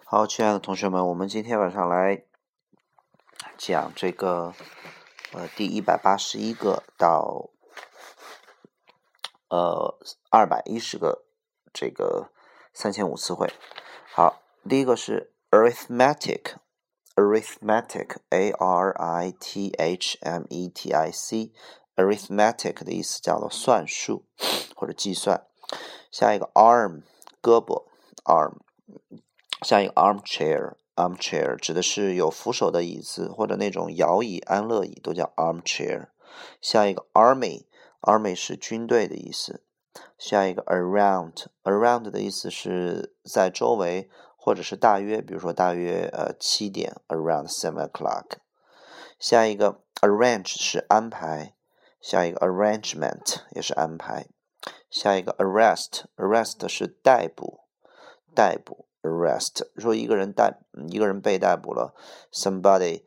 好，亲爱的同学们，我们今天晚上来讲这个第181个到210个这个3000词汇。好，第一个是 arithmetic arithmetic arithmetic 的意思叫做算术或者计算。下一个 arm 胳膊 arm。下一个 armchair 指的是有扶手的椅子或者那种摇椅安乐椅都叫 armchair。下一个 army 是军队的意思。下一个 around 的意思是在周围或者是大约，比如说大约7点 around 7 o'clock。下一个 arrange 是安排。下一个 arrangement 也是安排。下一个 arrest 是逮捕。arrest 说一个人被逮捕了 somebody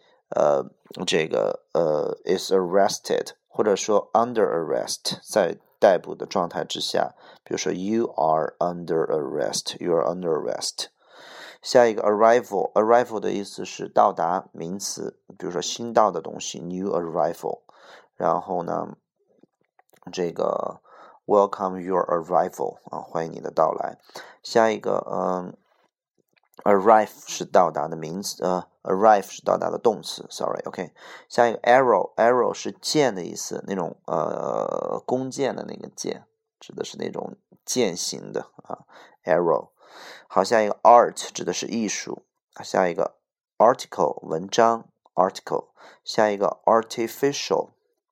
is arrested， 或者说 under arrest 在逮捕的状态之下，比如说 you are under arrest。 下一个 arrival 的意思是到达，名词，比如说新到的东西 new arrival。 然后呢这个 welcome your arrival 欢迎你的到来。下一个arrive 是到达的名词arrive 是到达的动词 OK。 下一个 arrow 是箭的意思，那种弓箭的那个箭，指的是那种箭形的arrow。 好，下一个 art 指的是艺术。下一个 article 文章 article。 下一个 artificial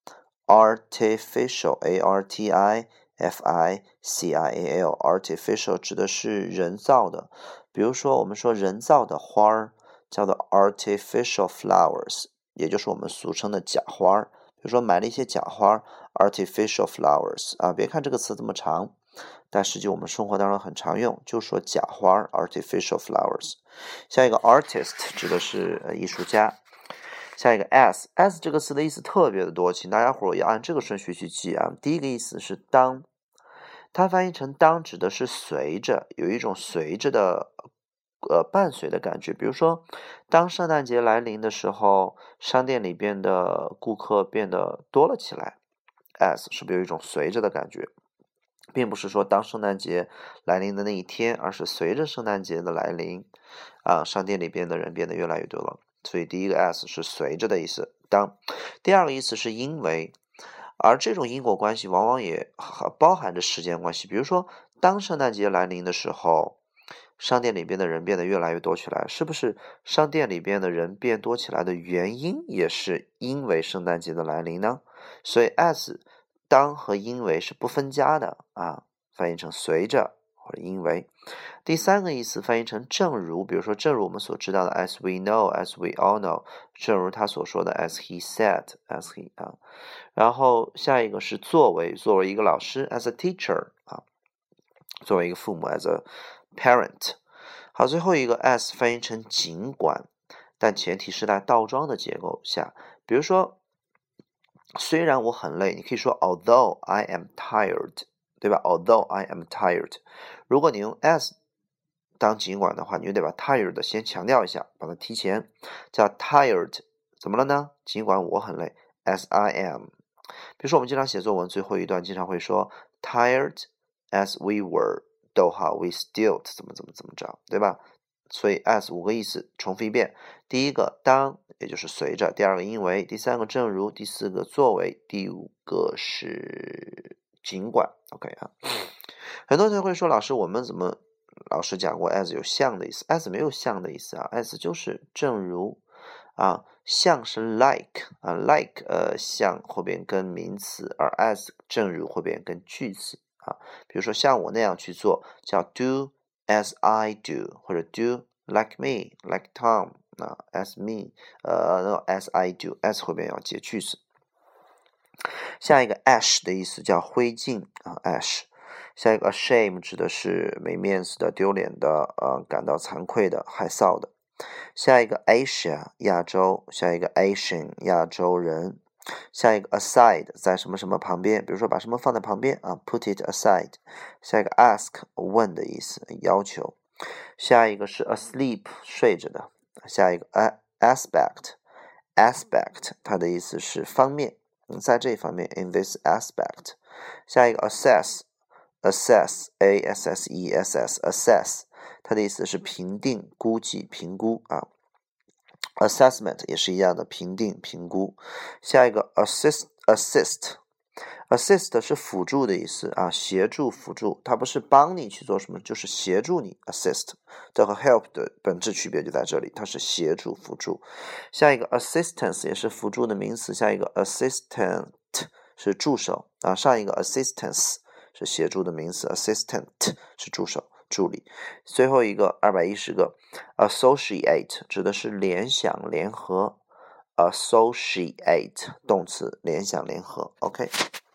artificial 指的是人造的，比如说我们说人造的花儿叫做 artificial flowers， 也就是我们俗称的假花。比如说买了一些假花 artificial flowers 别看这个词这么长，但实际我们生活当中很常用，就说假花 artificial flowers。 下一个 artist 指的是艺术家。下一个 as 这个词的意思特别的多，请大家伙要按这个顺序去记第一个意思是当，它翻译成当指的是随着，有一种随着的伴随的感觉。比如说当圣诞节来临的时候，商店里边的顾客变得多了起来， as 是不是有一种随着的感觉，并不是说当圣诞节来临的那一天，而是随着圣诞节的来临商店里边的人变得越来越多了。所以第一个 as 是随着的意思，当。第二个意思是因为，而这种因果关系往往也包含着时间关系。比如说当圣诞节来临的时候，商店里边的人变得越来越多起来，是不是商店里边的人变多起来的原因也是因为圣诞节的来临呢？所以 as 当和因为是不分家的翻译成随着或者因为。第三个意思翻译成正如，比如说正如我们所知道的 as we know as we all know， 正如他所说的 as he said as he 然后下一个是作为一个老师 as a teacher 作为一个父母 as a parent。 好，最后一个 as 翻译成尽管，但前提是在倒装的结构下。比如说虽然我很累，你可以说 although I am tired， 对吧？ although I am tired。 如果你用 as 当尽管的话，你就得把 tired 先强调一下，把它提前，叫 tired 怎么了呢？尽管我很累 as I am。 比如说我们经常写作文最后一段经常会说 tired as we were we still 怎么着，对吧？所以 as 5个意思重复一遍，第一个当，也就是随着；第二个因为；第三个正如；第四个作为；第五个是尽管。 OK 很多人会说老师我们怎么老师讲过 as 有像的意思， as 没有像的意思as 就是正如像是 like like 像后边跟名词，而 as 正如后边跟句子比如说像我那样去做叫 do as I do， 或者 do like me like Tom as me as I do， as 后边要接句子。下一个 ash 的意思叫灰烬ash。下一个 shame 指的是没面子的、丢脸的感到惭愧的、害臊的。下一个 Asia 亚洲，下一个 Asian 亚洲人。下一个 aside 在什么什么旁边，比如说把什么放在旁边put it aside。下一个 ask 问的意思，要求。 下一个是 asleep 睡着的，下一个aspect 它的意思是方面，在这方面 in this aspect。下一个 assess assess 它的意思是评定、估计、评估啊。assessment 也是一样的，评定、评估。下一个 assist 是辅助的意思啊，协助、辅助，它不是帮你去做什么，就是协助你 assist。这和 help 的本质区别就在这里，它是协助、辅助。下一个 assistance 也是辅助的名词，下一个 assistant 是助手啊，上一个 assistance 是协助的名词 ，assistant 是助手、助理。最后一个210个 associate 指的是联想、联合 ，associate 动词联想、联合。OK。